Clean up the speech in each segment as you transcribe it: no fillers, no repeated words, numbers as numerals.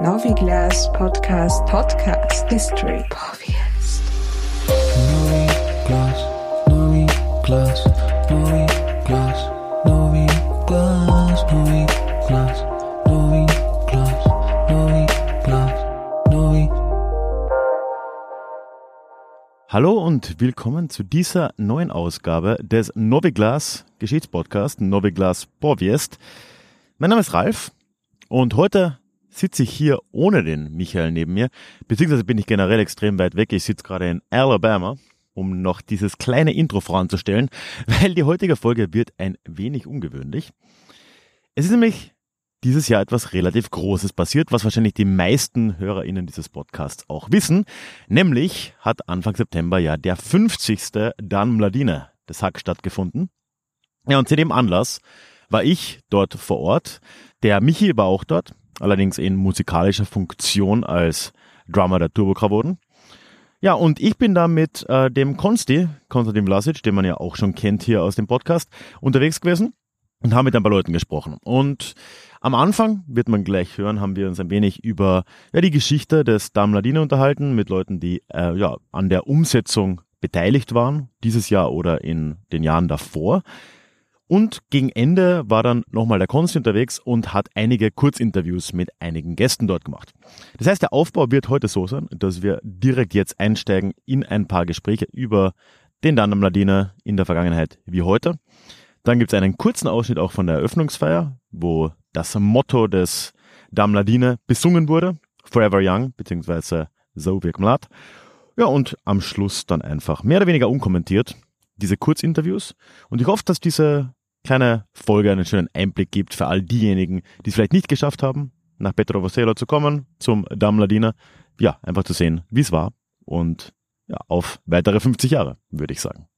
Noviglas Podcast History Podcast. Noviglas. Hallo und willkommen zu dieser neuen Ausgabe des Noviglas Geschichtspodcast Noviglas Podcast. Mein Name ist Ralf und heute sitze ich hier ohne den Michael neben mir, beziehungsweise bin ich generell extrem weit weg. Ich sitze gerade in Alabama, um noch dieses kleine Intro voranzustellen, weil die heutige Folge wird ein wenig ungewöhnlich. Es ist nämlich dieses Jahr etwas relativ Großes passiert, was wahrscheinlich die meisten HörerInnen dieses Podcasts auch wissen. Nämlich hat Anfang September ja der 50. Dan Mladine des Hack stattgefunden. Ja, und zu dem Anlass war ich dort vor Ort. Der Michi war auch dort, allerdings in musikalischer Funktion als Drummer der Turbo-Kravoden. Ja, und ich bin da mit dem Konstantin Vlasic, den man ja auch schon kennt hier aus dem Podcast, unterwegs gewesen und haben mit ein paar Leuten gesprochen. Und am Anfang, wird man gleich hören, haben wir uns ein wenig über die Geschichte des Dan Mladine unterhalten, mit Leuten, die an der Umsetzung beteiligt waren, dieses Jahr oder in den Jahren davor. Und gegen Ende war dann nochmal der Konsti unterwegs und hat einige Kurzinterviews mit einigen Gästen dort gemacht. Das heißt, der Aufbau wird heute so sein, dass wir direkt jetzt einsteigen in ein paar Gespräche über den Dan Mladine in der Vergangenheit wie heute. Dann gibt es einen kurzen Ausschnitt auch von der Eröffnungsfeier, wo das Motto des Dan Mladine besungen wurde, Forever Young, beziehungsweise Zo Wiek Mlad. Ja, und am Schluss dann einfach mehr oder weniger unkommentiert diese Kurzinterviews. Und ich hoffe, dass diese kleine Folge einen schönen Einblick gibt für all diejenigen, die es vielleicht nicht geschafft haben, nach Petrovoselo zu kommen, zum Dan Mladine. Ja, einfach zu sehen, wie es war. Und ja, auf weitere 50 Jahre, würde ich sagen.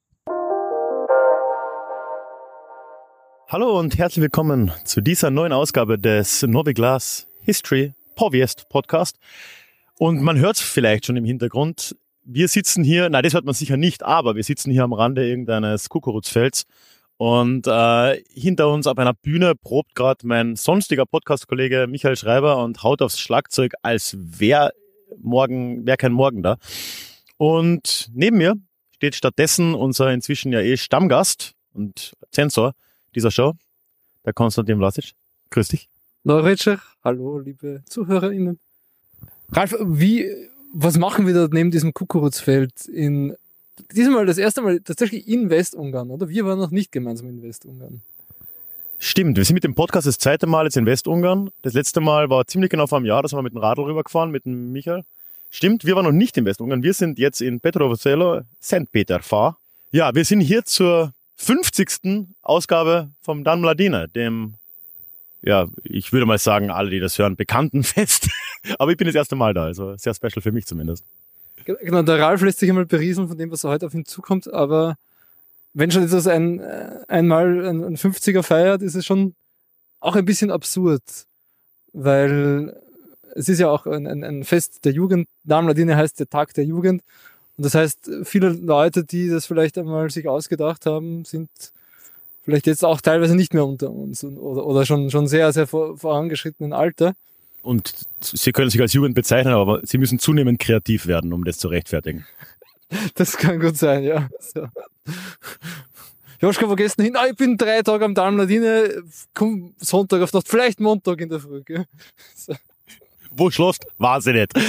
Hallo und herzlich willkommen zu dieser neuen Ausgabe des Noviglas History Podcast. Und man hört es vielleicht schon im Hintergrund. Wir sitzen hier, nein, das hört man sicher nicht, aber wir sitzen hier am Rande irgendeines Kukurutsfelds. Und hinter uns auf einer Bühne probt gerade mein sonstiger Podcast-Kollege Michael Schreiber und haut aufs Schlagzeug, als wäre kein Morgen da. Und neben mir steht stattdessen unser inzwischen ja Stammgast und Zensor dieser Show, der Konstantin Vlasic. Grüß dich. Neuretscher, hallo liebe ZuhörerInnen. Ralf, was machen wir da neben diesem Kukurutsfeld diesmal das erste Mal tatsächlich in Westungarn, oder? Wir waren noch nicht gemeinsam in Westungarn. Stimmt, wir sind mit dem Podcast das zweite Mal jetzt in Westungarn. Das letzte Mal war ziemlich genau vor einem Jahr, da sind wir mit dem Radl rübergefahren, mit dem Michael. Stimmt, wir waren noch nicht in Westungarn, wir sind jetzt in Petrovoselo, St. Peter-Fahr. Ja, wir sind hier zur 50. Ausgabe vom Dan Mladine, dem, ja, ich würde mal sagen, alle, die das hören, bekannten Fest. Aber ich bin das erste Mal da, also sehr special für mich zumindest. Genau, der Ralf lässt sich einmal berieseln von dem, was heute auf ihn zukommt, aber wenn schon etwas einmal ein 50er feiert, ist es schon auch ein bisschen absurd, weil es ist ja auch ein Fest der Jugend. Dan Mladine heißt der Tag der Jugend. Und das heißt, viele Leute, die das vielleicht einmal sich ausgedacht haben, sind vielleicht jetzt auch teilweise nicht mehr unter uns oder schon sehr, sehr vorangeschrittenen Alter. Und sie können sich als Jugend bezeichnen, aber sie müssen zunehmend kreativ werden, um das zu rechtfertigen. Das kann gut sein, ja. So. Joschka, wo gehst du hin? Ich bin 3 Tage am Dan Mladine, komm Sonntag auf Nacht, vielleicht Montag in der Früh. Gell? So. Wo schläfst? Weiß ich nicht.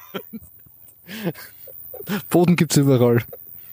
Boden gibt's überall.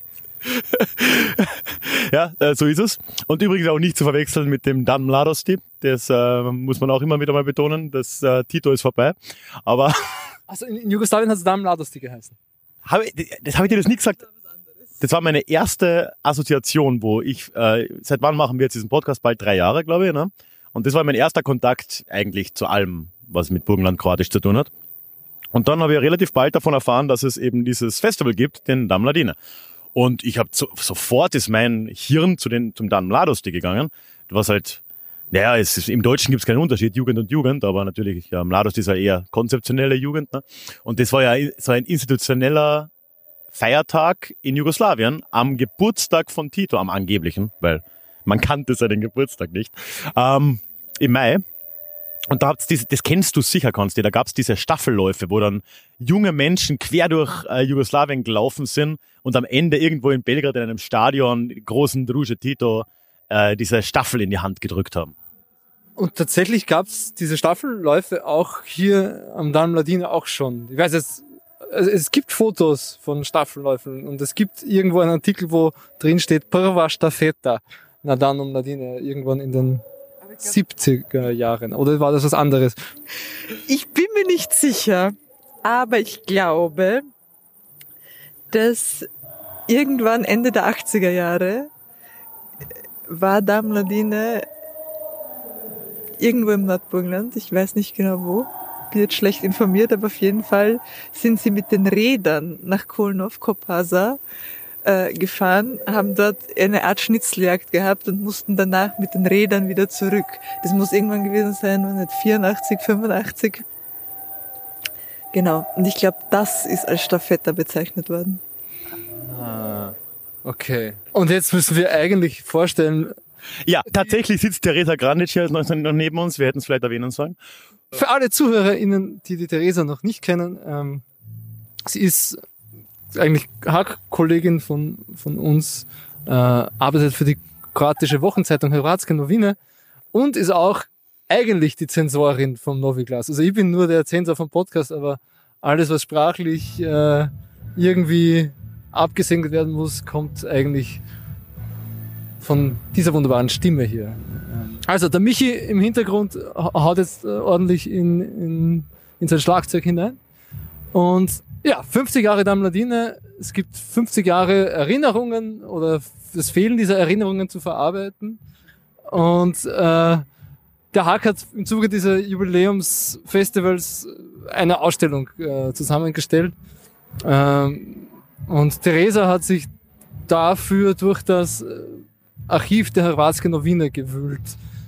Ja, so ist es. Und übrigens auch nicht zu verwechseln mit dem Dan Mladosti. Das muss man auch immer wieder mal betonen. Das Tito ist vorbei. Aber also in Jugoslawien hat es Dan Mladosti geheißen. Habe ich dir das nie gesagt? Das war meine erste Assoziation, wo ich, seit wann machen wir jetzt diesen Podcast? Bald 3 Jahre, glaube ich. Ne? Und das war mein erster Kontakt eigentlich zu allem, was mit Burgenland-Kroatisch zu tun hat. Und dann habe ich relativ bald davon erfahren, dass es eben dieses Festival gibt, den Dan Mladine. Und ich habe sofort ist mein Hirn zum Dan Mladosti gegangen. Was halt, im Deutschen gibt es keinen Unterschied, Jugend und Jugend, aber natürlich, ja, Mladosti ist ja eher konzeptionelle Jugend. Ne? Und das war ja so ein institutioneller Feiertag in Jugoslawien am Geburtstag von Tito, am angeblichen, weil man kannte seinen Geburtstag nicht, im Mai. Und da das kennst du sicher, Konsti, da gab's diese Staffelläufe, wo dann junge Menschen quer durch Jugoslawien gelaufen sind und am Ende irgendwo in Belgrad in einem Stadion großen Druže Tito diese Staffel in die Hand gedrückt haben. Und tatsächlich gab's diese Staffelläufe auch hier am Dan Mladine auch schon. Ich weiß jetzt, also es gibt Fotos von Staffelläufen und es gibt irgendwo einen Artikel, wo drin steht Prva Štafeta na Dan Mladine, irgendwann in den 70er Jahren. Oder war das was anderes? Ich bin mir nicht sicher, aber ich glaube, dass irgendwann Ende der 80er Jahre war Dan Mladine irgendwo im Nordburgenland, ich weiß nicht genau wo, bin jetzt schlecht informiert, aber auf jeden Fall sind sie mit den Rädern nach Kolnov, Kopasa gefahren, haben dort eine Art Schnitzeljagd gehabt und mussten danach mit den Rädern wieder zurück. Das muss irgendwann gewesen sein, wenn nicht 84, 85. Genau. Und ich glaube, das ist als Stafetta bezeichnet worden. Ah, okay. Und jetzt müssen wir eigentlich vorstellen... Ja, tatsächlich sitzt Teresa Grandic hier noch neben uns. Wir hätten es vielleicht erwähnen sollen. Für alle ZuhörerInnen, die Teresa noch nicht kennen, sie ist eigentlich Hack-Kollegin von uns, arbeitet für die kroatische Wochenzeitung Hrvatske Novine und ist auch eigentlich die Zensorin vom Novi Glas. Also ich bin nur der Zensor vom Podcast, aber alles, was sprachlich irgendwie abgesegnet werden muss, kommt eigentlich von dieser wunderbaren Stimme hier. Also der Michi im Hintergrund haut jetzt ordentlich in sein Schlagzeug hinein. Und ja, 50 Jahre Dan Mladine, es gibt 50 Jahre Erinnerungen oder das Fehlen dieser Erinnerungen zu verarbeiten. Und der Hack hat im Zuge dieser Jubiläumsfestivals eine Ausstellung zusammengestellt. Und Teresa hat sich dafür durch das Archiv der Hrvatske Novine gewühlt.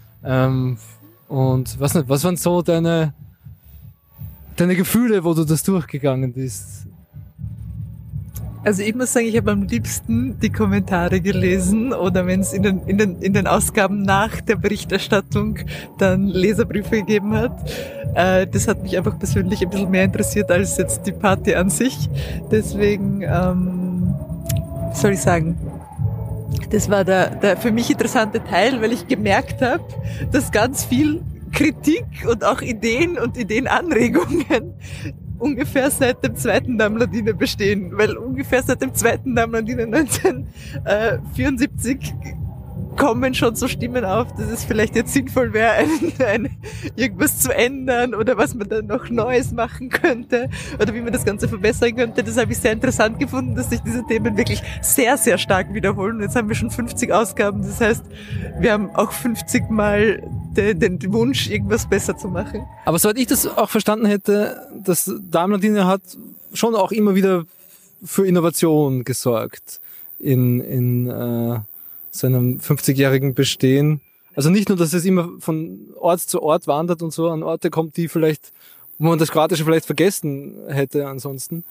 Und was waren so deine Gefühle, wo du das durchgegangen bist? Also ich muss sagen, ich habe am liebsten die Kommentare gelesen oder wenn es in den Ausgaben nach der Berichterstattung dann Leserbriefe gegeben hat. Das hat mich einfach persönlich ein bisschen mehr interessiert als jetzt die Party an sich. Deswegen, wie soll ich sagen, das war der für mich interessante Teil, weil ich gemerkt habe, dass ganz viel Kritik und auch Ideen und Ideenanregungen ungefähr seit dem zweiten Dan Mladine bestehen, weil ungefähr seit dem zweiten Dan Mladine 1974 kommen schon so Stimmen auf, dass es vielleicht jetzt sinnvoll wäre, irgendwas zu ändern oder was man dann noch Neues machen könnte oder wie man das Ganze verbessern könnte. Das habe ich sehr interessant gefunden, dass sich diese Themen wirklich sehr, sehr stark wiederholen. Und jetzt haben wir schon 50 Ausgaben, das heißt, wir haben auch 50 Mal den Wunsch, irgendwas besser zu machen. Aber soweit ich das auch verstanden hätte, dass Dan Mladine hat schon auch immer wieder für Innovation gesorgt in seinem 50-jährigen Bestehen. Also nicht nur, dass es immer von Ort zu Ort wandert und so an Orte kommt, die vielleicht, wo man das Kroatische vielleicht vergessen hätte ansonsten.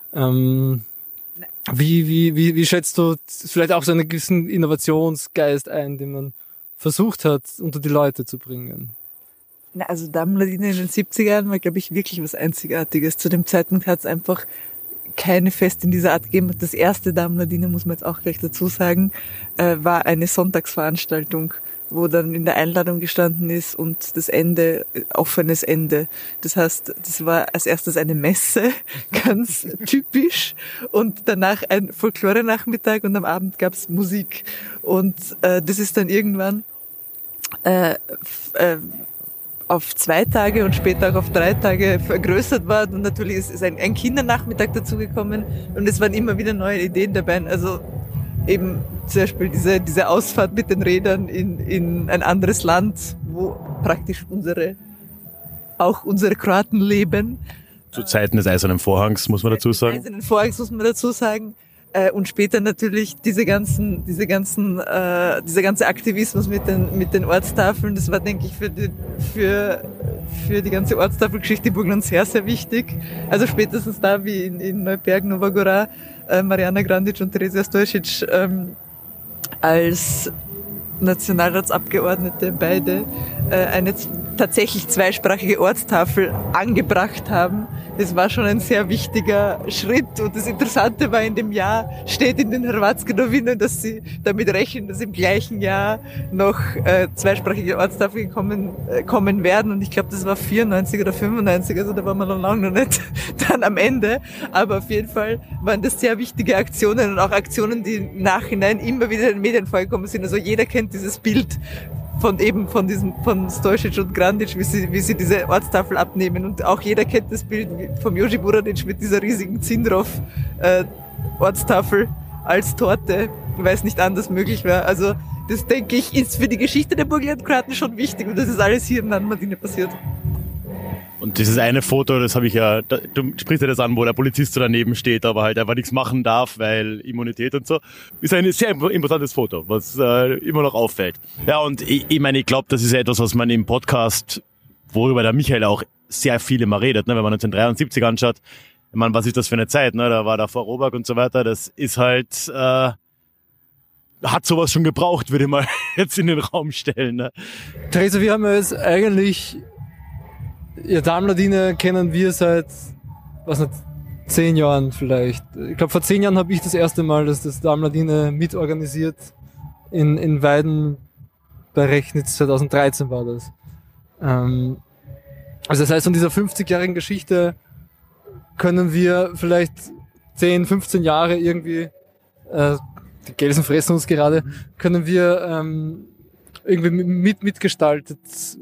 Wie schätzt du vielleicht auch so einen gewissen Innovationsgeist ein, den man versucht hat, unter die Leute zu bringen? Na, also Dan Mladine in den 70ern war, glaube ich, wirklich was Einzigartiges. Zu dem Zeitpunkt hat es einfach keine Fest in dieser Art gegeben. Das erste Dan Mladine, muss man jetzt auch gleich dazu sagen, war eine Sonntagsveranstaltung, wo dann in der Einladung gestanden ist und das Ende, offenes Ende. Das heißt, das war als erstes eine Messe, ganz typisch, und danach ein Folklore-Nachmittag und am Abend gab's Musik. Und das ist dann irgendwann auf 2 Tage und später auch auf 3 Tage vergrößert worden. Und natürlich ist ein Kindernachmittag dazugekommen und es waren immer wieder neue Ideen dabei. Also eben zum Beispiel diese Ausfahrt mit den Rädern in ein anderes Land, wo praktisch unsere Kroaten leben. Zu Zeiten des Eisernen Vorhangs, muss man dazu sagen. Eisernen Vorhangs muss man dazu sagen. Und später natürlich dieser ganze Aktivismus mit den Ortstafeln, das war, denke ich, für die ganze Ortstafelgeschichte Burgenlands sehr, sehr wichtig. Also spätestens da, wie in Neuberg, Nova Gora, Mariana Grandic und Teresa Stojcic als Nationalratsabgeordnete beide eine tatsächlich zweisprachige Ortstafel angebracht haben. Das war schon ein sehr wichtiger Schritt. Und das Interessante war, in dem Jahr steht in den Hrvatske-Novinen, dass sie damit rechnen, dass im gleichen Jahr noch zweisprachige Ortstafeln kommen werden. Und ich glaube, das war 94 oder 95, also da waren wir noch lange noch nicht dann am Ende. Aber auf jeden Fall waren das sehr wichtige Aktionen und auch Aktionen, die im Nachhinein immer wieder in den Medien vorgekommen sind. Also jeder kennt dieses Bild von Stojcic und Grandic, wie sie diese Ortstafel abnehmen. Und auch jeder kennt das Bild vom Joži Buranic mit dieser riesigen Zindrov Ortstafel als Torte, weil es nicht anders möglich war. Also das, denke ich, ist für die Geschichte der Burgenlandkroaten schon wichtig. Und das ist alles hier in Nadmadine passiert. Und dieses eine Foto, das habe ich ja, du sprichst ja das an, wo der Polizist so daneben steht, aber halt einfach nichts machen darf, weil Immunität und so. Ist ein sehr imposantes Foto, was immer noch auffällt. Ja, und ich meine, ich glaube, das ist ja etwas, was man im Podcast, worüber der Michael auch sehr viel immer redet, ne? Wenn man 1973 anschaut, ich meine, was ist das für eine Zeit, ne? Da war der Vorarlberg und so weiter, das ist halt, hat sowas schon gebraucht, würde ich mal jetzt in den Raum stellen. Ne? Theresa, wir haben ja jetzt eigentlich, ja, Damladine kennen wir seit, 10 Jahren vielleicht. Ich glaube, vor 10 Jahren habe ich das erste Mal das Damladine mitorganisiert. In Weiden bei Rechnitz, 2013 war das. Also das heißt, von dieser 50-jährigen Geschichte können wir vielleicht 10, 15 Jahre irgendwie, die Gelsen fressen uns gerade, können wir irgendwie mitgestalten.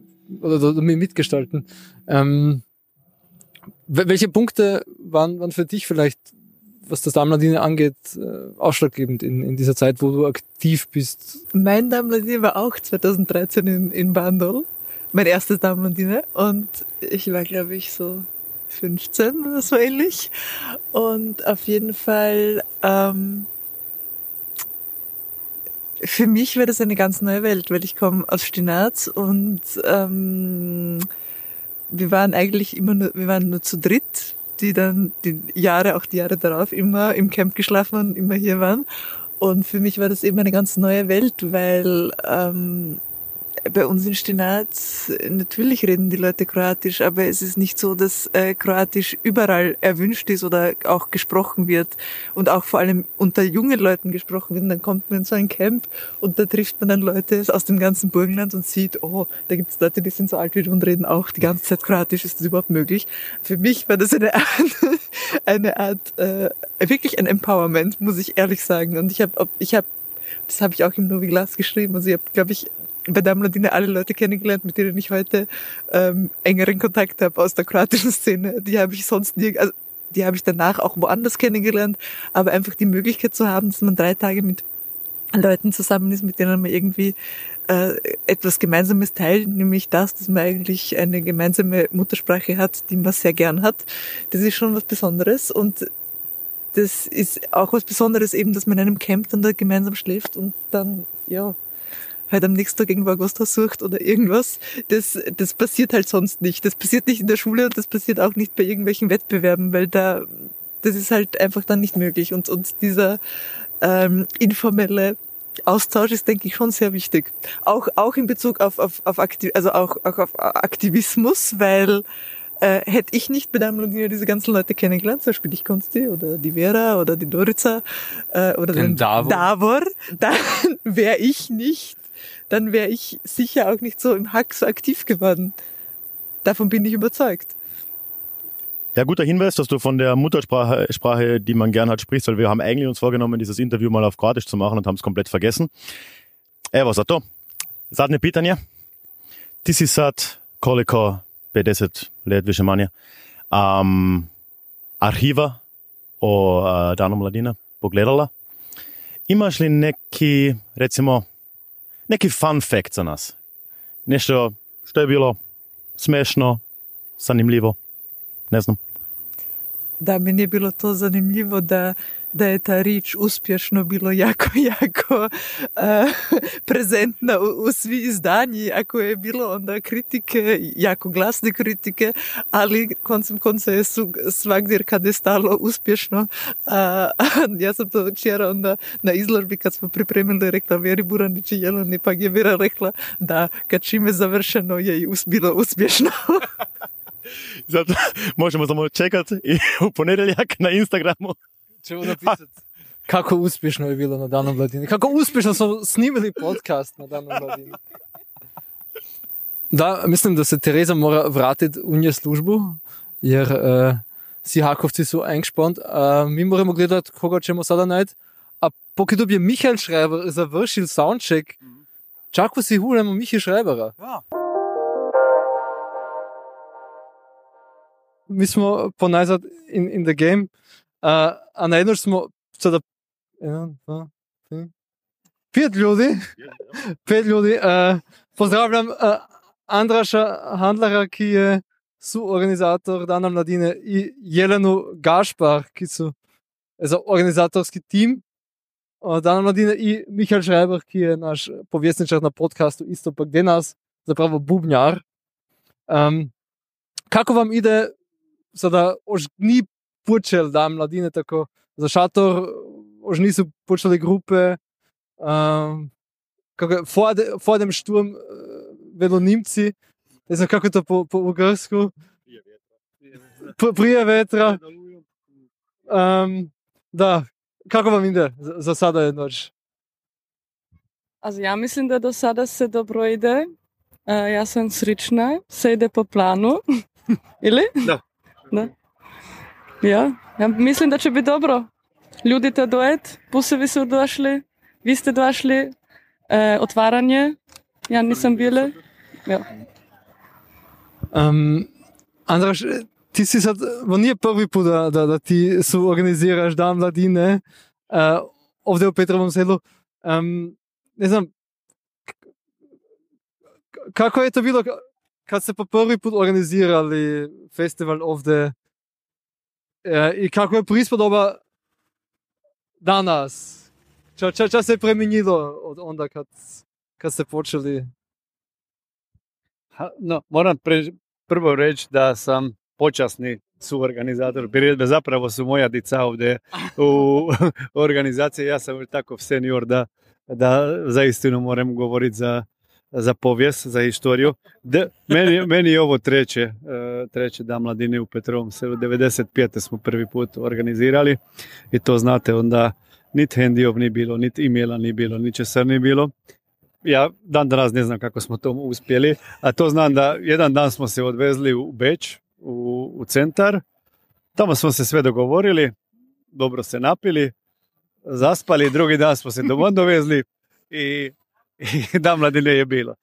Welche Punkte waren für dich vielleicht, was das Damladine angeht, ausschlaggebend in dieser Zeit, wo du aktiv bist? Mein Damladine war auch 2013 in Bandol, mein erstes Damladine, und ich war, glaube ich, so 15 oder so ähnlich. Und auf jeden Fall, für mich war das eine ganz neue Welt, weil ich komme aus Stinaz und wir waren nur zu dritt, die dann die Jahre darauf immer im Camp geschlafen und immer hier waren. Und für mich war das eben eine ganz neue Welt, weil bei uns in Stinaz, natürlich reden die Leute Kroatisch, aber es ist nicht so, dass Kroatisch überall erwünscht ist oder auch gesprochen wird und auch vor allem unter jungen Leuten gesprochen wird. Und dann kommt man in so ein Camp und da trifft man dann Leute aus dem ganzen Burgenland und sieht, oh, da gibt es Leute, die sind so alt wie du und reden auch die ganze Zeit Kroatisch. Ist das überhaupt möglich? Für mich war das eine Art wirklich ein Empowerment, muss ich ehrlich sagen. Und das habe ich auch im Novi Glas geschrieben. Also ich habe, glaube ich, bei Damladine alle Leute kennengelernt, mit denen ich heute engeren Kontakt habe aus der kroatischen Szene. Die habe ich sonst die habe ich danach auch woanders kennengelernt. Aber einfach die Möglichkeit zu haben, dass man 3 Tage mit Leuten zusammen ist, mit denen man irgendwie etwas Gemeinsames teilt, nämlich dass man eigentlich eine gemeinsame Muttersprache hat, die man sehr gern hat. Das ist schon was Besonderes. Und das ist auch was Besonderes eben, dass man in einem Camp dann da gemeinsam schläft und dann, ja, halt am nächsten Tag irgendwo ein Gasthaus sucht oder irgendwas. Das passiert halt sonst nicht. Das passiert nicht in der Schule und das passiert auch nicht bei irgendwelchen Wettbewerben, weil das ist halt einfach dann nicht möglich. Und dieser informelle Austausch ist, denke ich, schon sehr wichtig. Auch in Bezug auf Aktivismus, weil hätte ich nicht bei Damladine diese ganzen Leute kennengelernt, zum Beispiel dich, Konsti, oder die Vera, oder die Dorica, oder den Davor, dann wäre ich sicher auch nicht so im Hack so aktiv geworden. Davon bin ich überzeugt. Ja, guter Hinweis, dass du von der Muttersprache, die man gern hat, sprichst, weil wir haben eigentlich uns vorgenommen, dieses Interview mal auf Kroatisch zu machen und haben es komplett vergessen. Evo za to. Zadnje pitanje. Ti si sad koliko 50 let više manje arhiva o Danu mladine pogledala. Imaš li neki, recimo, neki fun fact za nas? Nešto što je bilo smešno, zanimljivo? Ne znam. Da, meni je bilo to zanimljivo, da da je ta rič uspješno bilo jako prezentna u svi izdanji, ako je bilo onda kritike, jako glasne kritike, ali koncem konca je svagdje kad je stalo uspješno. Ja sam to včera onda na izložbi kad smo pripremili rekla Vjeri Buranić i Jeleni, pa je Vjera rekla da kad čime završeno je i bilo uspješno. Zato možemo samo čekati i u ponedjeljak na Instagramu. Ćemo napisati kako uspješno je bilo na Danu mladine. Kako uspješno smo snimili podcast na Danu mladine. Da, mislim da se Tereza mora vratiti u nje službu, jer si Hakovci su eingespannt. Mi moramo gledati, koga ćemo sada najti. A pokud bi Michael Schreiber završil soundcheck, čako si hulemo Michi Schreibera. Ja. Mi smo ponajzad in the game, a najednož smo sada 5 ljudi. Pozdravljam Andraša Handlara, ki je suorganizator Dana mladine, i Jelenu Gašpar, ki su organizatorski tim Dana mladine, i Michael Schreiber, ki je naš povjesničar na podcastu isto pa gdje nas, zapravo bubnjar. Kako vam ide sada, už ni počel Dan mladine tako za šator, už nisu počeli grupe, vor dem Sturm velo Nimci, ne znam kako je to po ugarsku, prije vetra. Da, kako vam ide za sada je noć? Also ja mislim da do sada se dobro ide. Ja sam srična, se ide po planu. Ili? Da. Ja mislim da će biti dobro. Ljudi te dojet, pusevi su došli, vi ste došli, otvaranje, ja nisam bile. Ja. Andraš, ti si sad, nije prvi put da ti suorganiziraš Dan mladine ovdje u Petrovom selu. Ne znam, kako je to bilo kad ste po prvi put organizirali festival ovdje i kako je prispodoba danas? Čo se je premenilo od onda kad ste počeli? No, moram prvo reći da sam počasni suorganizator priredbe. Zapravo su moja dica ovdje u organizaciji. Ja sam tako senior da zaistinu moram govoriti za povijest, za istoriju. Meni je ovo treće Dan mladine u Petrovom selu. 95. smo prvi put organizirali i to znate onda niti hendijov ni bilo, niti e-maila ni bilo, ni česar ni bilo. Ja dan danas ne znam kako smo to uspjeli, a to znam da jedan dan smo se odvezli u Beč, u centar. Tamo smo se sve dogovorili, dobro se napili, zaspali, drugi dan smo se doma dovezli i Dan mladine je bilo.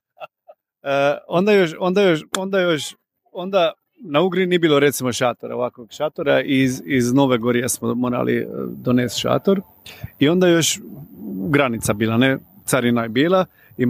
Onda na Ugri nije bilo recimo šatora, ovakvog šatora, iz Nove Gorije smo morali donesti šator i onda još granica bila, ne, carina je bila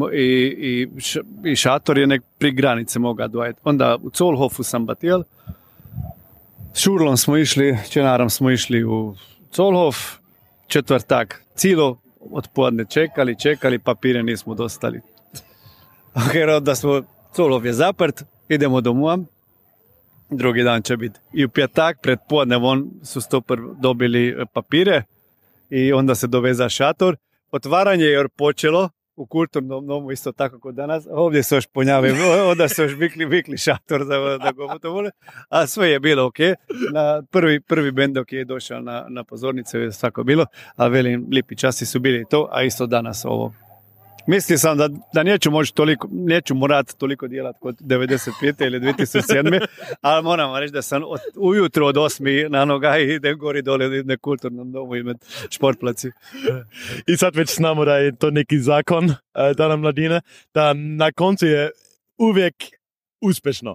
i šator je nek pri granice moga dojeti. Onda u Zollhofu sam batijel, s Šurlom smo išli, čenarom smo išli u Zollhof, četvrtak, cijelo odpodne čekali, papire nismo dostali. Onda smo, Zollhof je zaprt, idemo domov, drugi dan će biti. I u petak pred podnevom su stopar dobili papire i onda se doveza šator. Otvaranje je počelo u kulturnom domu isto tako kod danas. Ovdje se još ponjave, onda se još vikli šator da go to vole. A sve je bilo ok. Na prvi bend dok je došao na pozornicu je svako bilo, a velim, lipi časi su bili to, a isto danas ovo. Mislio sam da neću morat toliko djelat kod 95. ili 2007. ali moram reći da sam ujutro od 8 na noga i idem gori dole na kulturnom domu i med športplaci. I sad već znamo da je to neki zakon Dana mladine, da na koncu je uvijek uspješno.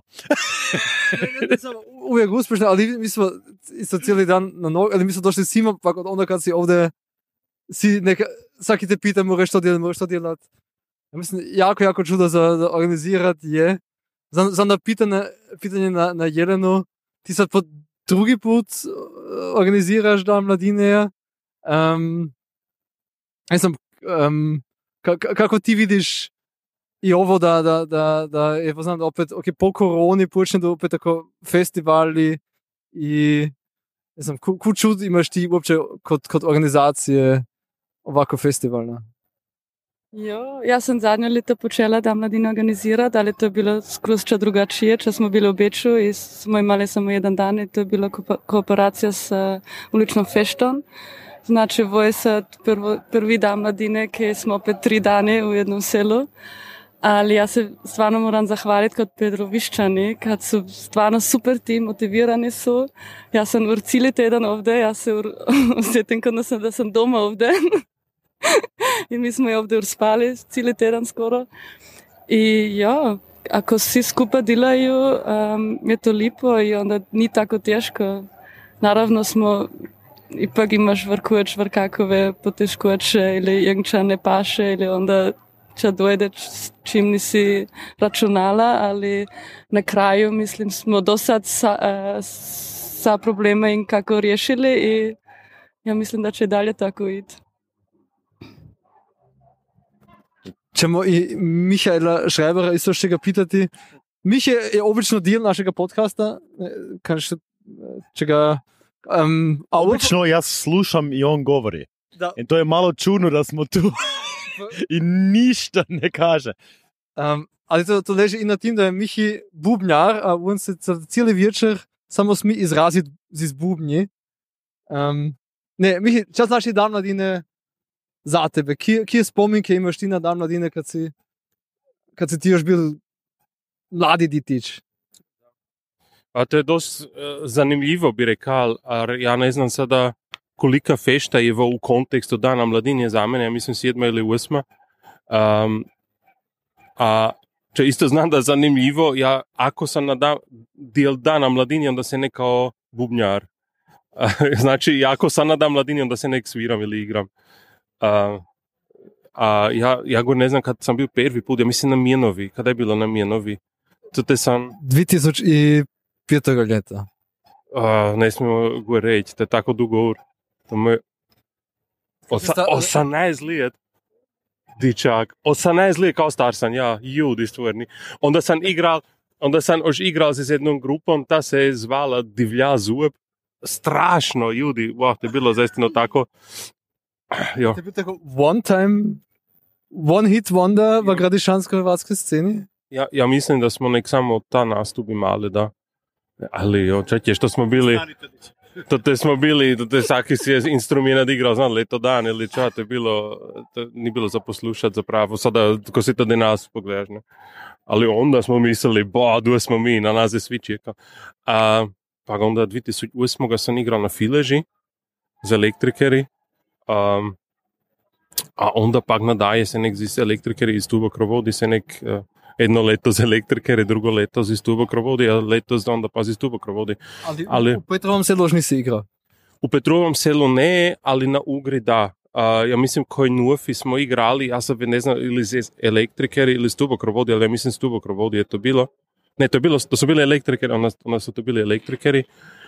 Uvijek uspješno, ali mi smo isto cijeli dan na nogu, ali mi smo došli svima, pa onda kad si ovdje svaki te pita, moraš to djelat. Ja mislim, jako čudo za organizirati je. Za pitanje na Jelenu, ti sad po drugi put organiziraš Dan mladine, Ne znam, kako ti vidiš i ovo da je poznam da opet po koroni počne da opet tako festivali i ne znam, ku čud imaš ti uopće kod organizacije ovako festivalna? Jo, ja sam zadnje leto počela da mladina organizirati, ali to je bilo skroz drugačije, če smo bili v Beču i smo imali samo jedan dan i to je bila kooperacija s uličnom feštom. Znači, ovo je sad prvi dan mladine, ki smo opet 3 dane u jednom selu. Ali ja se stvarno moram zahvaliti kod Pedroviščani, kad su stvarno super tim, motivirani su. Ja sam cijeli teden ovdje, ja se osjetim da sam doma ovdje. I mi smo i ovdje urspali cijeli teden skoro. I ja, ako svi skupa delaju, je to lipo i onda ni tako teško. Naravno smo, ipak imaš vrkakove poteškoće ili irgendča ne paše ili onda če dojde s čim nisi računala, ali na kraju mislim smo do sad sa problema in kako riješili i ja mislim da će dalje tako iti. Ćemo i Michaela Schreibera isto še ga pitati. Miha je obično del našega podcasta, če ga... Obično jaz slušam i on govori. Da. I to je malo čudno da smo tu i ništa ne kaže. Ali to leži i na tim, da je Michi bubnjar, a on se cijeli večer samo smi izraziti z bubnji. Ne, Michi, čas naši dan mladine za tebe. Kje spominke imaš ti na dan mladine, kad si ti još bil mladi ditič? A to je dost zanimljivo, bi rekal, ja ne znam sada kolika fešta je v kontekstu dana mladine za mene, ja mislim 7 ili 8. A če isto znam da je zanimljivo, ja ako sam na del dana mladine, onda se ne kao bubnjar. Znači, ako sam na dan mladine, onda se nek sviram ili igram. Ja go ne znam kad sam bil prvi put, ja mislim na Mijenovi. Kada je bilo na Mijenovi? To te sam... 2005. ljeta. Ne smemo go reći, to je tako dugo ur. To mu je 18 let. Dičak. 18 let kao star sam, ja, judi stvorni. Onda sam igral z jednom grupom, ta se je zvala Divlja zub. Strašno, judi, wow, to je bilo zaistino tako. Jo. To je bil tako one hit wonder v gradišansko-hrvatskoj sceni? Ja mislim da smo nek samo ta nastup imali, da. Ali jo, čekaj, što smo bili... To te svaki si je instrument igrao, znam, leto dan ili ča, to je bilo, to ni bilo za poslušat zapravo, sada ko si to danas pogledaš, ne. Ali onda smo mislili, duje smo mi, na nas je svi čeka. Pa onda 2008. sam igrao na Fileži za elektrikeri, a onda pak nadaje se nek z elektrikeri iz Tubokrovodi se nek... Jedno leto z elektrikeri, drugo leto z Tubokrovodi, a letos onda pa z Tubokrovodi. Ali u Petrovom selu još nisi igrao? U Petrovom selu ne, ali na Ugri da. Ja mislim koji Nufi smo igrali, ja sad ne znam ili z elektrikeri ili z Tubokrovodi, ali ja mislim z Tubokrovodi je to bilo. Ne, to su bili elektrikeri, onda su to bili elektrikeri.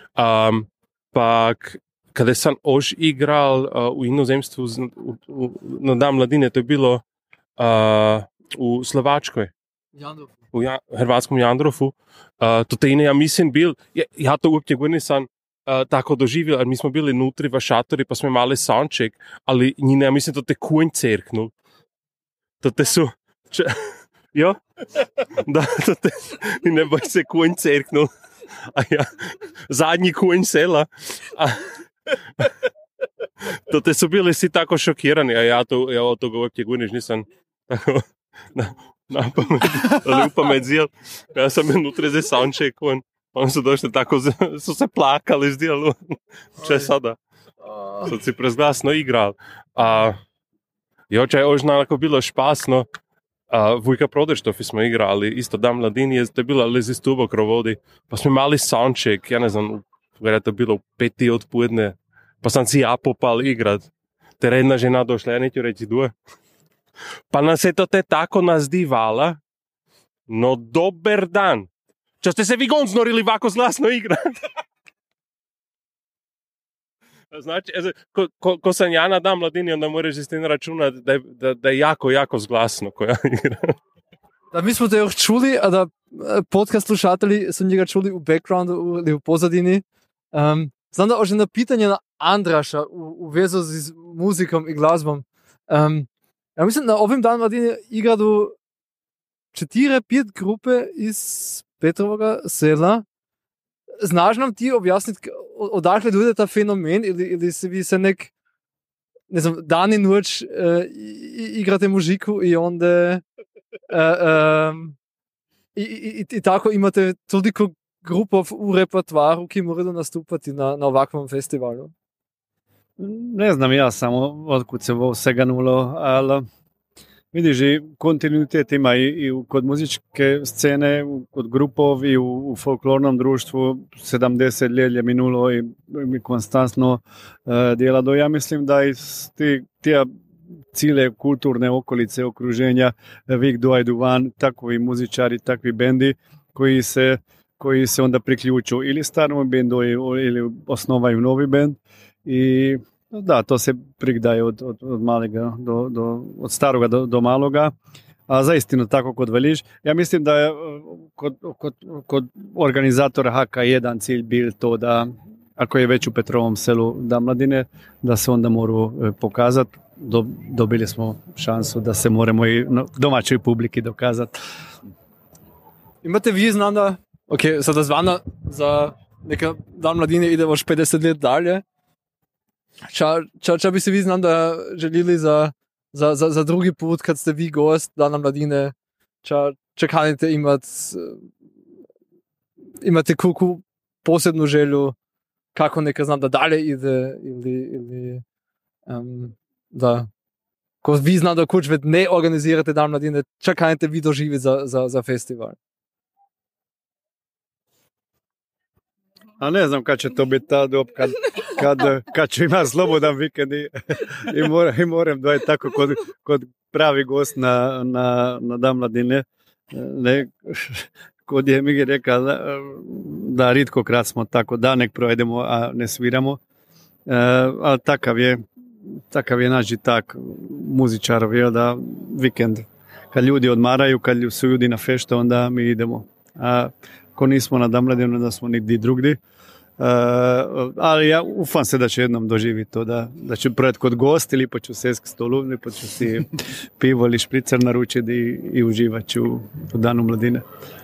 Pak kada sam još igral u inozemstvu na dan mladine, to je bilo u Slovačkoj. U hrvatskom Jandrofu. To te ja mislim bil, ja to uopće nisam tako doživio, jer mi smo bili nutri v šatori, pa smo imali soundcheck, ali njine, ja mislim, to te konj cerknul. To te su... Jo? Da, to te... Ne boj se konj cerknul. A ja, zadnji konj sela. To te su bili svi tako šokirani, a ja od toga uopće nisam tako... Na pamet zjel. Ja sam unutra za soundcheck, oni su došli tako, su se plakali zdjel. Če sada? Sad si prezglasno igral. Joče je ožnako bilo špasno. Vujka Prodeštofi smo igrali, isto dan mladini, to je bilo lezi z Tubokrovodi. Pa smo imali soundcheck, ja ne znam, je to bilo u 5 odpoledne. Pa sam si ja popal igrat. Te jedna žena došla, ja neću reći duje. Pa nas je to te tako nazdivala, no dober dan. Čo ste se vi gon znorili vako zglasno igrat? Znači, ko sam ja na Dan mladini, onda moraš s tim računati da je jako, jako zglasno koja igra. Da, mi smo te još čuli, a da podcast slušatelji su njega čuli u backgroundu ili u pozadini. Znam da že na pitanje na Andraša u vezu z muzikom i glazbom. Ja mislim, na ovim Dan mladini igradu 4-5 grupe iz Petrovega sela. Znaš nam ti objasniti, odakle dojde ta fenomen ili se vi se ne znam, dan in noč igrate muziku i onda i tako imate toliko grupov u repertoaru, ki morajo nastupati na ovakvom festivalu? Ne znam ja samo otkud se ovo vsega nulo, ali vidiš, i kontinuitet ima i kod muzičke scene, kod grupov i u folklornom društvu 70 let je minulo i mi konstantno djelado. Ja mislim da iz tija cile kulturne okolice, okruženja Vik dojdu van takvi muzičari, takvi bendi koji se onda priključu ili starom bendu ili osnovaju novi bend i da, to se prigdaje od malega od staroga do maloga, a zaistinu tako kod veliš. Ja mislim da je kod organizatora Haka jedan cilj bil to da ako je već u Petrovom selu Dan mladine, da se onda moru pokazati. Dobili smo šansu da se moramo i domaćoj publiki dokazati. Imate vi znanda, ok, sada zvana za neka Dan mladine ide još 50 let dalje. Če bi se vi znanda želili za drugi put, kad ste vi gost Dana mladine, če kanite imate kuku posebnu želju kako neka znam da dalje ide ili da ko vi znate kuć ved ne organizirate Dan mladine, če kanite vi doživjeti za festival? A ne znam kad će to biti ta dob, kad ću imati slobodan vikend i moram dojeti tako kod pravi gost na Dan mladine. Ne, kod je Migi rekao da ritko krat smo tako da nek projedemo, a ne sviramo. Ali takav je naš tak muzičarov, je da vikend kad ljudi odmaraju, kad su ljudi na fešte, onda mi idemo. A ko nismo na Dan mladinu, da smo nigdje drugdje. Ali ja ufam se da će jednom doživjeti to, da ću projeti kod gost ili pa ću sest k stolu, ili pa ću si pivo ili špricer naručiti i uživat ću u Danu mladine.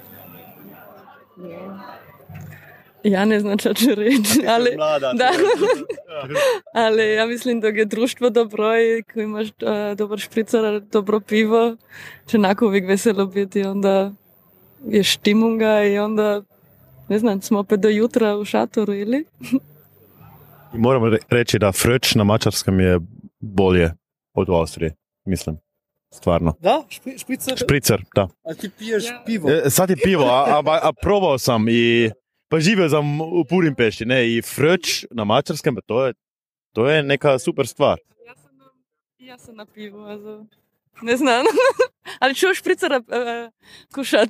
Ja ne znam čo ću reći, ali ja mislim da je društvo dobro i ko imaš dobar špricer, dobro pivo, će onako uvijek veselo biti, onda je štimunga i onda, ne znam, smo opet do jutra u šatoru ili? I moram reći da fröč na mačarskom je bolje od u Austriji, mislim. Stvarno. Da? Špricer, da. A ti piješ pivo? Sad je pivo, a probao sam i pa živio sam u Budimpešti, ne, i fröč na mačarskom, to je neka super stvar. Ja sam na pivu, also ne znam, ali ću špricera kušat.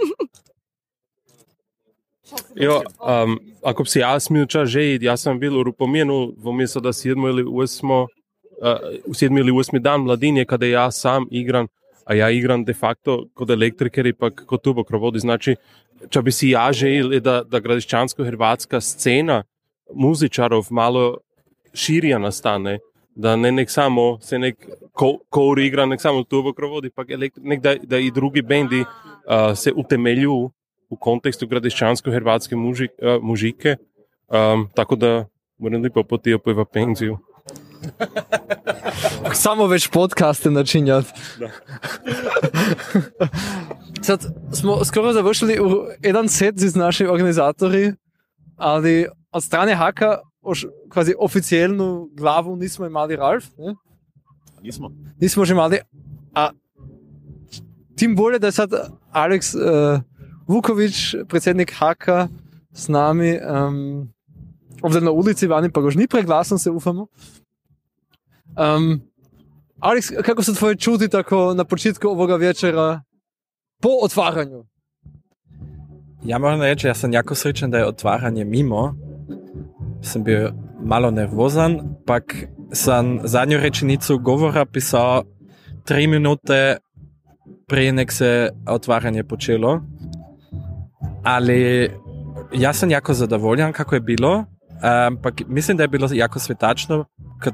Jo, ako bi se ja smil čas žejiti, ja sam bil v Rupomenu v mesto da 7. ili 8. Dan mladinje, kada ja sam igram, a ja igram de facto kod elektriker i pa kod tubokrovodi. Znači, če bi si ja želil, da gradiščansko-hrvatska scena muzičarov malo širja nastane, da ne nek samo se nek kour igra, nek samo tubokrovodi, pa nek da i drugi bendi se utemelju u kontekstu gradiščansko-hrvatske mužike, tako da moram lepo potio pojva penziju. Samo već podcaste načinjati. Sad smo skoro završili jedan set z našimi organizatori, ali od strane Haka kvazi oficijelnu glavu nismo imali Ralf. Ne? Nismo že imali. A tim bolje da je sad Alex Vuković, predsjednik Haka, s nami ovdje na ulici vani, pa gož ni preglasan se ufamo. Alex, kako se tvoje čuti tako na početku ovoga večera po otvaranju? Ja moram reći, ja sam jako srećan da je otvaranje mimo. Sam bio malo nervozan, pak sam zadnju rečenicu govora pisao 3 minute prije nek se otvaranje počelo. Ali ja sam jako zadovoljan kako je bilo, pak mislim da je bilo jako svetačno,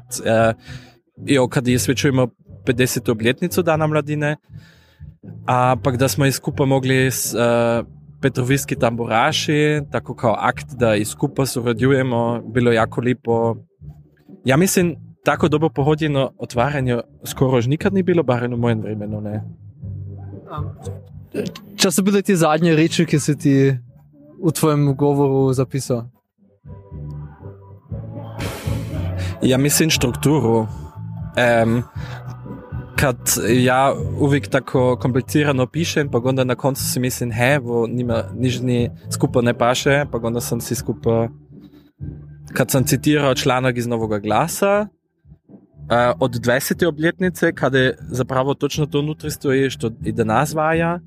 kad isvečujemo 50. obljetnicu Dana mladine, a pak da smo i skupa mogli s Petroviski tamburaši, tako kao akt da i skupa surađujemo, bilo jako lipo. Ja mislim, tako dobro pohodjeno otvaranje skoro još nikad ni bilo, barem u mojem vremenu, ne. Čo so bile ti zadnje reči, ki si ti v tvojem govoru zapisal? Ja mislim strukturu. Kad ja uvijek tako komplicirano pišem, pa onda na koncu si mislim, vo nima nižni skupa ne paše, pa onda sam si skupa, kad sam citirao članak iz Novoga glasa, od 20. obljetnice, kada zapravo točno to unutri stoji, što i danas vaja,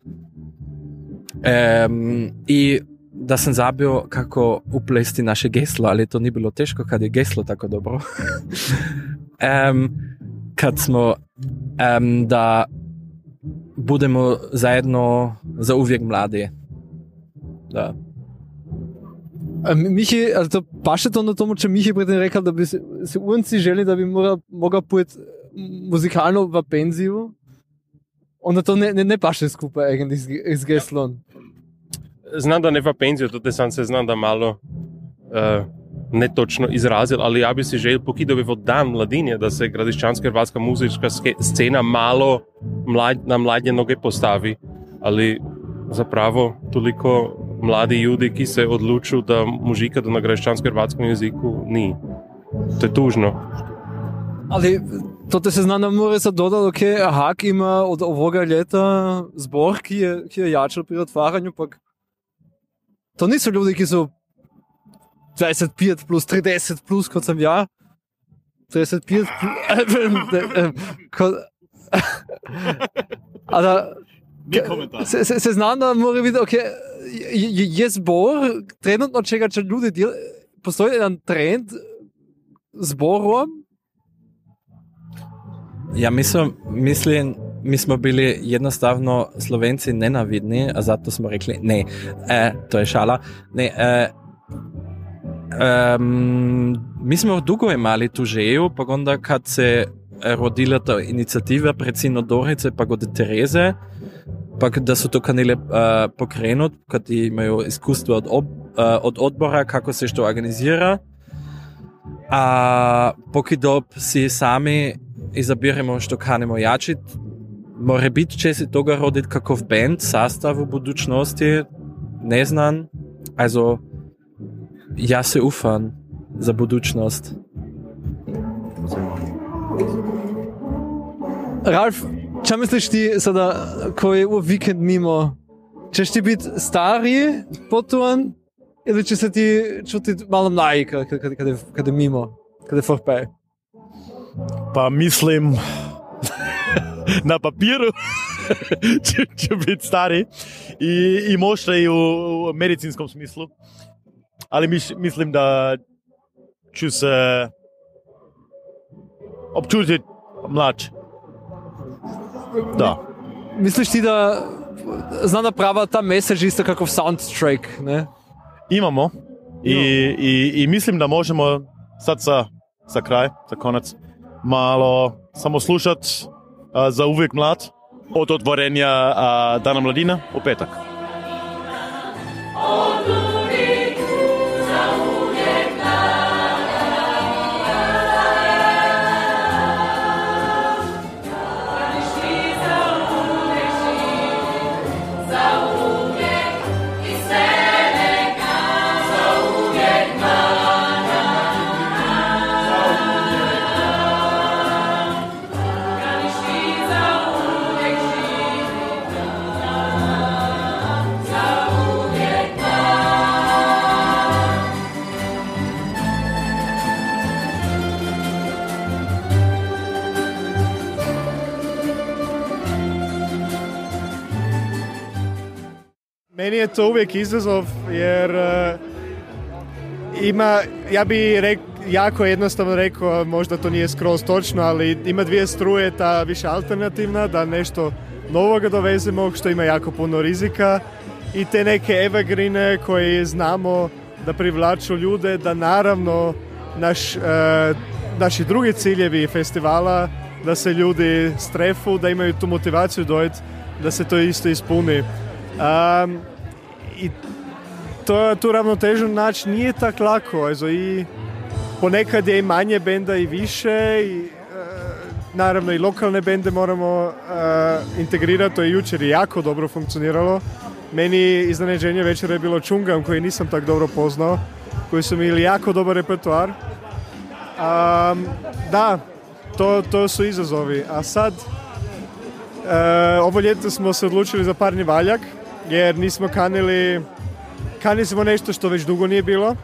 i da sam zabio kako uplesti naše geslo, ali to nije bilo teško kad je geslo tako dobro. Kad smo da budemo zajedno za uvijek mladi. Da. Michi, also to paše to na tomu, če Michi predtem rekel, da bi se unci želi, da bi mogel pojeti muzikalno v penziju. Onda to ne paše skupaj eigentlich z geslom. Znam da ne v penziju, tudi sam se znam da malo netočno izrazil, ali ja bi si želel, pokud bi v Dan mladine, da se gradiščanska hrvatska muzička scena malo na mladje noge postavi, ali zapravo toliko mladi ljudi, ki se odlučuju da mužikati na gradiščanskem hrvatskom jeziku, ni. To je tužno. Ali to se zna, da mora se dodati, okay, Hak ima od ovoga leta zbor, ki je jačal pri otvaranju, pak to niso ljudi, ki so 25 plus, 30 plus, kot sem ja. 35 plus. Se znam, da mora videti, okay, je zbor, trenutno čega, če ljudi postoji jedan trend zborom. Ja mislim, mi smo bili jednostavno Slovenci nenavidni, a zato smo rekli ne, to je šala. Ne, mi smo dugo imali tu želju, pa onda kad se rodila ta inicijativa predsjedno Dorice, pa od Tereze, pa da su to kanile pokrenut, kad imaju iskustvo od odbora kako se što organizira, a pokidop si sami izabiramo što kanemo jačit, more biti će se toga roditi kakov band, sastav u budućnosti, ne znam, also ja se ufam za budućnost. Ralf, čo misliš ti sada, ko je u vikend mimo, ćeš ti biti stariji potuan ili će se ti čuti malo mlaji kad je mimo, kad je vorbei? Pa mislim, na papiru će biti stari i možda i u medicinskom smislu, ali mislim da ću se občutiti mlađ. Da. Misliš ti da zna naprava ta message isto kakov soundtrack, ne? Imamo i mislim da možemo sad za kraj, za konac, malo samo slušat za uvijek mlad od otvorenja Dana mladine u petak. Meni je to uvijek izazov jer jako jednostavno rekao, možda to nije skroz točno, ali ima dvije struje, ta više alternativna, da nešto novoga dovezemo, što ima jako puno rizika, i te neke evergreene koje znamo da privlaču ljude, da naravno naši drugi ciljevi festivala, da se ljudi strefu, da imaju tu motivaciju dojeti, da se to isto ispuni. I tu ravnotežu naći nije tako lako. Also, i ponekad je i manje benda i više, i naravno i lokalne bende moramo integrirati. To je jučer jako dobro funkcioniralo. Meni iznenađenje večera je bilo Čungam, koji nisam tako dobro poznao, koji su imali jako dobar repertoar. Da, to su izazovi. A sad, ovo ljeto smo se odlučili za parni valjak, jer nismo kanili smo nešto što već dugo nije bilo.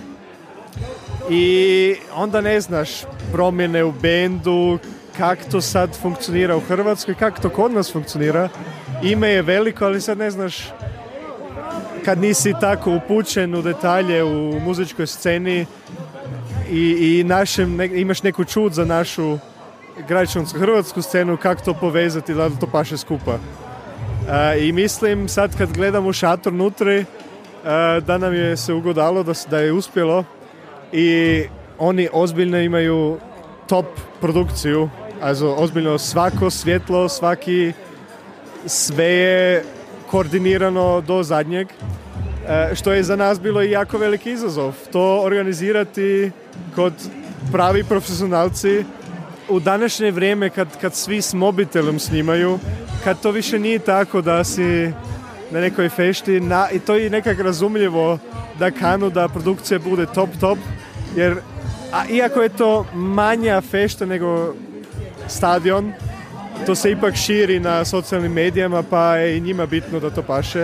I onda ne znaš promjene u bendu, kako to sad funkcionira u Hrvatskoj, kako to kod nas funkcionira. Ime je veliko, ali sad ne znaš, kad nisi tako upućen u detalje u muzičkoj sceni i imaš neku čud za našu građansku hrvatsku scenu, kako to povezati da to paše skupa. I mislim sad kad gledam u šator nutri, da nam je se ugodalo, da je uspjelo, i oni ozbiljno imaju top produkciju, also ozbiljno svako svjetlo, sve je koordinirano do zadnjeg, što je za nas bilo i jako veliki izazov. To organizirati kod pravi profesionalci u današnje vrijeme kad svi s mobitelom snimaju, kad to više nije tako da si na nekoj fešti, i to je nekak razumljivo da kanu da produkcija bude top, jer iako je to manja fešta nego stadion, to se ipak širi na socijalnim medijama, pa je i njima bitno da to paše.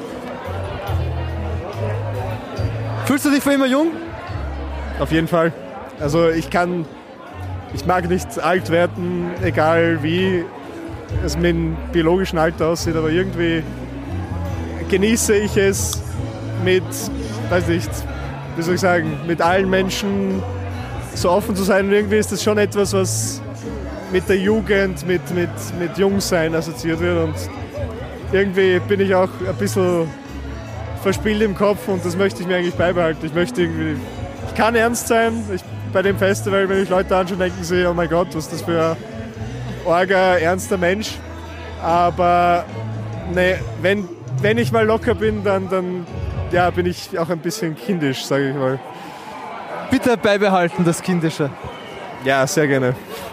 Fühlst du dich für immer jung? Auf jeden Fall. Also ich mag nicht alt werden, egal wie es mit dem biologischen Alter aussieht, aber irgendwie genieße ich es mit, weiß nicht, wie soll ich sagen, mit allen Menschen so offen zu sein. Und irgendwie ist das schon etwas, was mit der Jugend, mit Jungsein assoziiert wird. Und irgendwie bin ich auch ein bisschen verspielt im Kopf, und das möchte ich mir eigentlich beibehalten. Ich kann ernst sein. Bei dem Festival, wenn ich Leute anschaue, denken sie, oh mein Gott, was ist das für ein arger, ernster Mensch. Aber ne, wenn ich mal locker bin, dann ja, bin ich auch ein bisschen kindisch, sage ich mal. Bitte beibehalten, das Kindische. Ja, sehr gerne.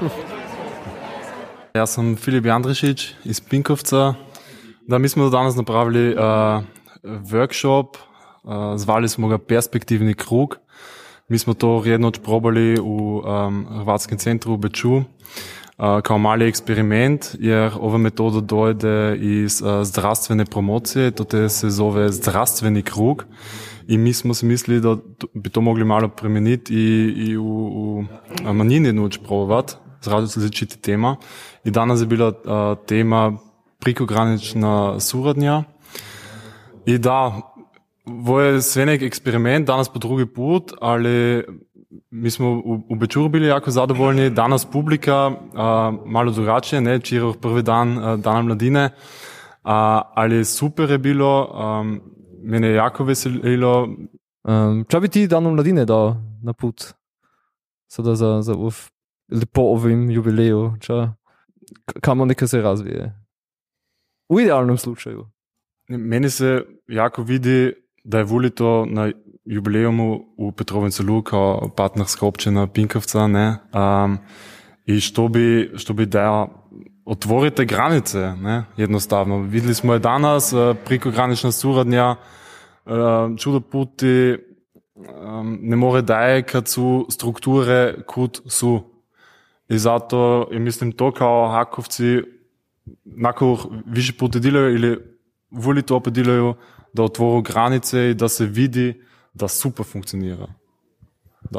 Ja sam Filip Jandrišić iz Pinkovca. Da, mi smo danas napravili workshop, zvali smo ga Perspektivni krug. Mi smo to jednoč probali u Hrvatskem centru u Beču kao mali eksperiment, jer ova metoda dojde iz zdravstvene promocije, to se zove zdravstveni krug, i mi smo si mislili da bi to mogli malo premeniti i u manjini noč probovat z različitih tema. I danas je bila tema prekogranična suradnja. I da, ovo je sve nek eksperiment, danas po drugi put, ali mi smo u Bečuru bili jako zadovoljni, danas publika malo drugačije, ne, včeraj prvi dan Dana mladine, ali super je bilo, mene je jako veselilo. Čo bi ti Danu mladine dal na put? Sada za po ovim jubileju, kamo neka se razvije? U idealnom slučaju. Meni se jako vidi da je volito na jubilejumu u Petrovem Selu kao partnerska općina Pinkovca, ne? I što bi da otvorite granice, ne? Jednostavno. Videli smo je danas, prekogranična suradnja, čudo puti ne more daje kad su strukture kud su. I zato mislim to kao Hakovci nakon više puta delaju ili voli to opet delaju, da otvoru granice i da se vidi, da super funkcionira. Da.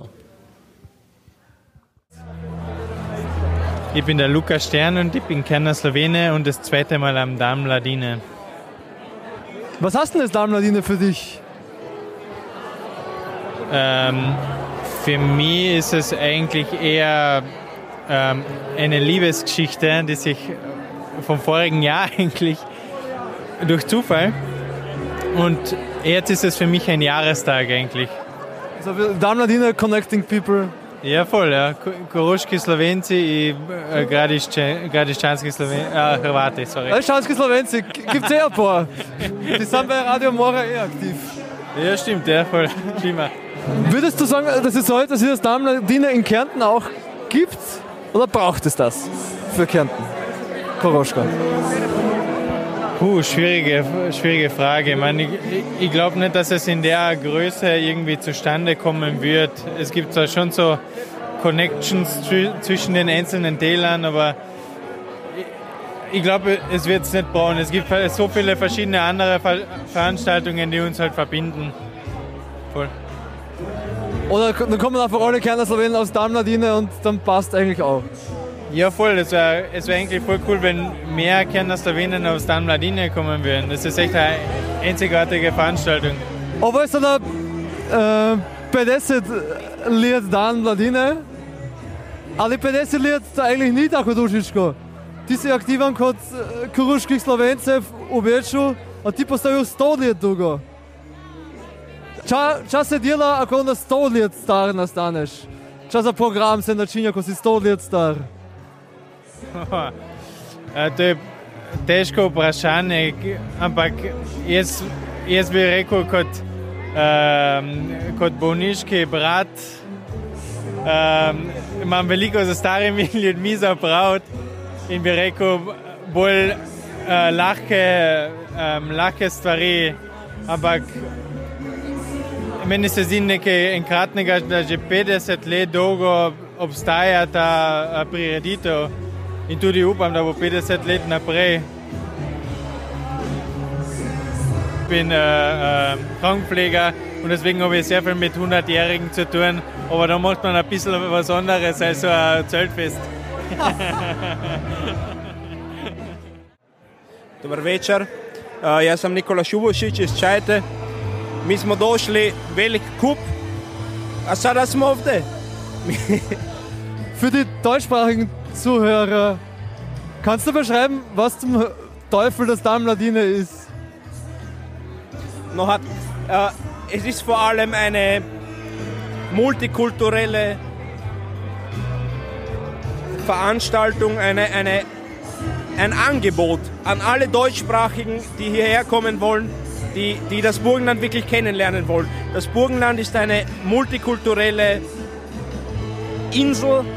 Ich bin der Lukas Stern und ich bin Kerner Slowene und das zweite Mal am Dame Mladine. Was hast denn das Dame Mladine für dich? Für mich ist es eigentlich eher eine Liebesgeschichte, die sich vom vorigen Jahr eigentlich durch Zufall, und jetzt ist es für mich ein Jahrestag eigentlich. Also Damladina Connecting People. Ja, voll, ja. Koroški Slovenci i Gradiščanski Hrvati, sorry. Gradiščanski Slovenci, gibt's ein paar. Die sind bei Radio Mora aktiv. Ja, stimmt, ja, voll. Prima. Würdest du sagen, dass es heute, dass es das Damladina in Kärnten auch gibt? Oder braucht es das für Kärnten? Koroška. Schwierige Frage. Ich glaube nicht, dass es in der Größe irgendwie zustande kommen wird. Es gibt zwar schon so Connections zwischen den einzelnen Tälern, aber ich glaube, es wird es nicht brauchen. Es gibt so viele verschiedene andere Veranstaltungen, die uns halt verbinden. Voll. Oder dann kommen einfach alle Kärntner Slowenen aus Damladina und dann passt eigentlich auch. Ja, voll. Es wär eigentlich voll cool, wenn mehr Kärntner Slowenen aus Damladina kommen würden. Das ist echt eine einzigartige Veranstaltung. Aber ist da 50 let Damladina, ali 50 let eigentlich nicht tako dušičko. Ti si aktivan kot koroških Slovencev v Beču, a ti postavijo 100 let dolgo. Čas se dela, ako na 100 let star nastaneš. Čas za program se načinja, ko si 100 let star. To je težko vprašanje, ampak jaz bi rekel kot bolniški brat, imam veliko za starimi ljudmi za opraviti in bi rekel bolj lahke stvari, ampak meni se zdi nekaj enkratnega, da že 50 let dolgo obstaja ta prireditev. In tudi upam, da bo 50 let naprej. Ich bin Krankenpfleger und deswegen habe ich sehr viel mit 100-Jährigen zu tun. Aber da macht man ein bisschen was anderes als so ein Zeltfest. Dobar večer, ja sam Nikola Šubošić iz Čajte. Mi smo došli velik kup, a sada smo ovdje. Für die deutschsprachigen Zuhörer, kannst du beschreiben, was zum Teufel das Damladina ist? Es ist vor allem eine multikulturelle Veranstaltung, ein Angebot an alle Deutschsprachigen, die hierher kommen wollen, die das Burgenland wirklich kennenlernen wollen. Das Burgenland ist eine multikulturelle Insel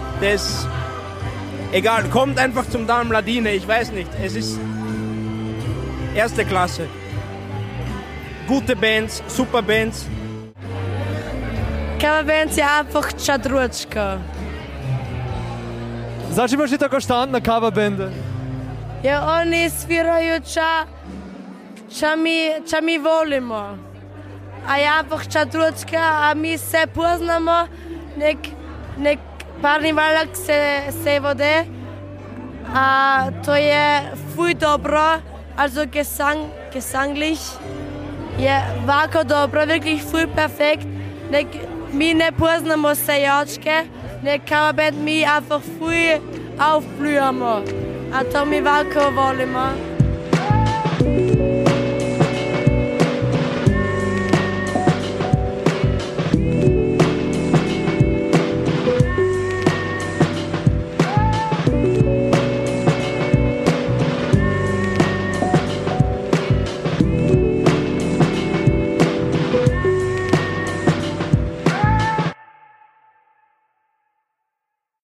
egal, kommt einfach zum Damladina, ich weiß nicht, es ist erste Klasse. Gute Bands, super Bands. Coverband je einfach čadručka. Znači imaš i tako štand na coverbande? Ja, oni sviraju ča mi volimo. A je einfach čadručka, a mi se poznamo, nek parni valak se vode, a to je fuj dobro, also gesanglich je vako dobro, wirklich fuj perfekt. Mi ne poznamo sejačke, nek coverband mi einfach fuj aufblühamo, a to mi vako volimo.